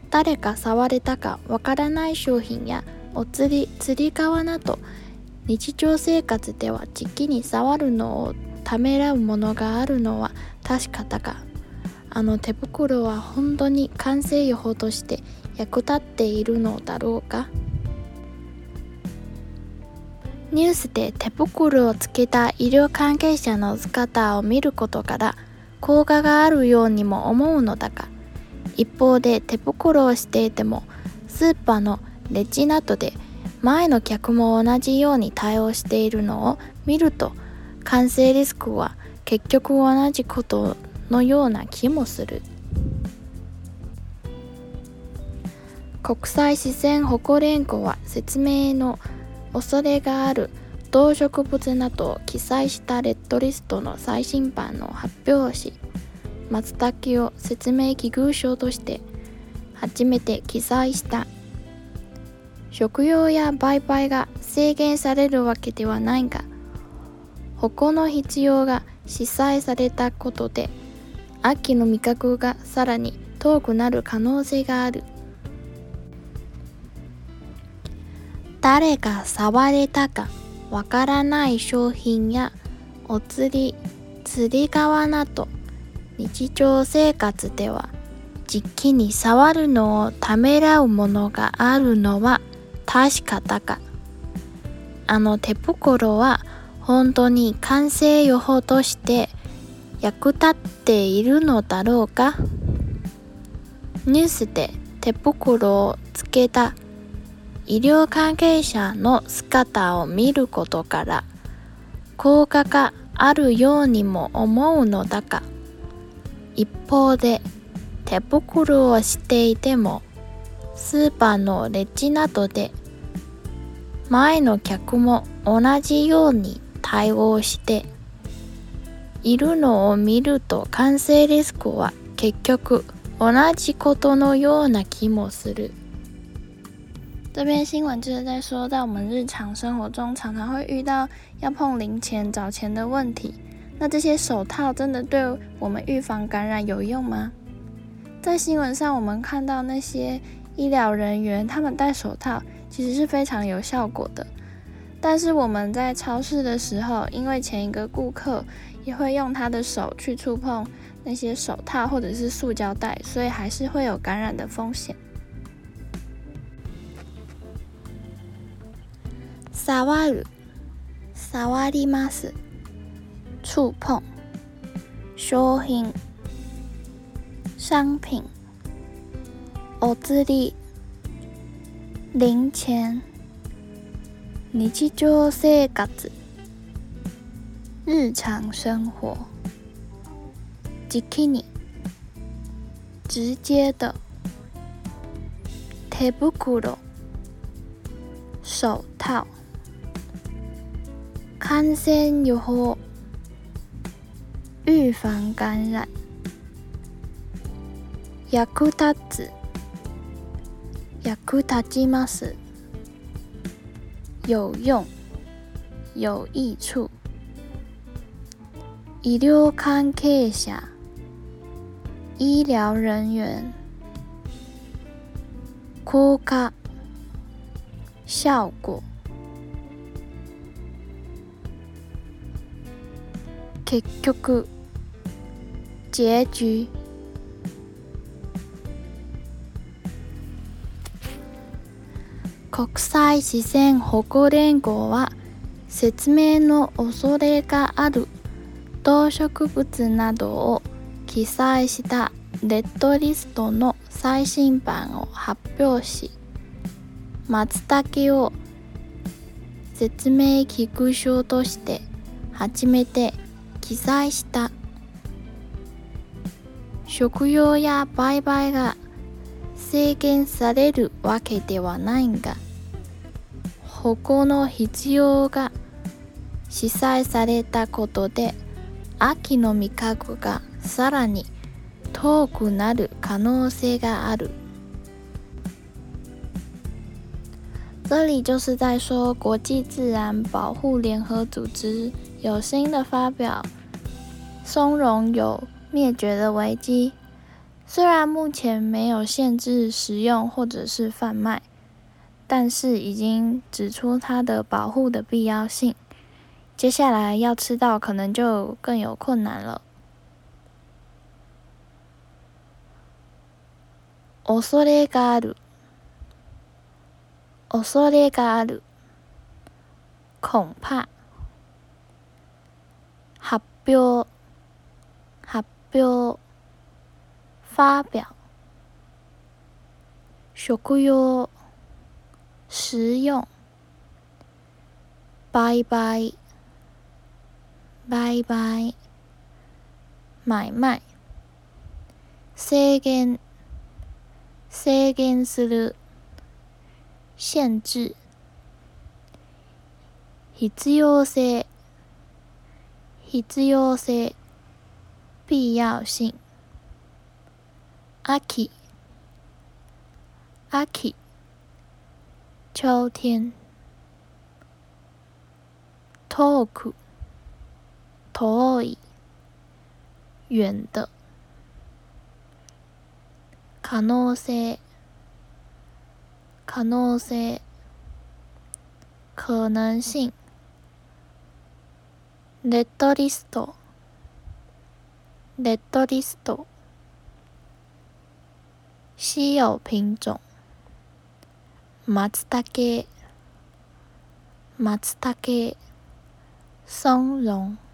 誰か触れたかわからない商品やお釣り革など、日常生活ではじきに触るのをためらうものがあるのは確かだが、あの手袋は本当に感染予防として役立っているのだろうか。ニュースで手袋をつけた医療関係者の姿を見ることから効果があるようにも思うのだが、一方で手袋をしていてもスーパーのレジなどで前の客も同じように対応しているのを見ると、感染リスクは結局同じことのような気もする。国際自然保護連合は説明の恐れがある動植物などを記載したレッドリストの最新版を発表し、松茸を説明危惧種として初めて記載した。食用や売買が制限されるわけではないが、保護の必要が示唆されたことで、秋の味覚がさらに遠くなる可能性がある。誰が触れたかわからない商品やお釣り革など、日常生活ではじきに触るのをためらうものがあるのは確かだが、あの手袋は本当に感染予防として役立っているのだろうか。ニュースで手袋をつけた医療関係者の姿を見ることから効果があるようにも思うのだが、一方で手袋をしていてもスーパーのレジなどで前の客も同じように対応しているのを見ると、感染リスクは結局同じことのような気もする。 这篇新闻就是在说到我们日常生活中常常会遇到要碰零钱找钱的问题，那这些手套真的对我们预防感染有用吗？在新闻上我们看到那些医疗人员他们戴手套其实是非常有效果的，但是我们在超市的时候，因为前一个顾客也会用他的手去触碰那些手套或者是塑胶袋，所以还是会有感染的风险。 触る、触ります。触碰、商品、商品。お釣り、零钱。日常生活、日常生活。じきに、直接的。手袋、手套。感染予防、预防感染。役立つ、役立ちます。有用、有益处。医療関係者、医療人員。効果、效果。結局、結局。国際自然保護連合は説明の恐れがある動植物などを記載したレッドリストの最新版を発表し、松茸を説明危惧種として初めて記載した。食用や売買が制限されるわけではないが、保護の必要が示唆されたことで、秋の味覚がさらに遠くなる可能性がある。这里就是在说，国际自然保护联合组织有新的发表，松茸有灭绝的危机。 虽然目前没有限制食用或者是贩卖，但是已经指出它的保护的必要性。接下来要吃到可能就更有困难了。恐れがある、恐れがある、恐怕。発表、発表、发表。食用、食用。売買、売買。買卖。制限、制限する。限制。必要性、必要性。必要性。秋、秋。秋天。遠く、遠い。远的。可能性、可能性。可能性。レッドリスト、レッドリスト。稀有品種。松茸、松茸。松茸。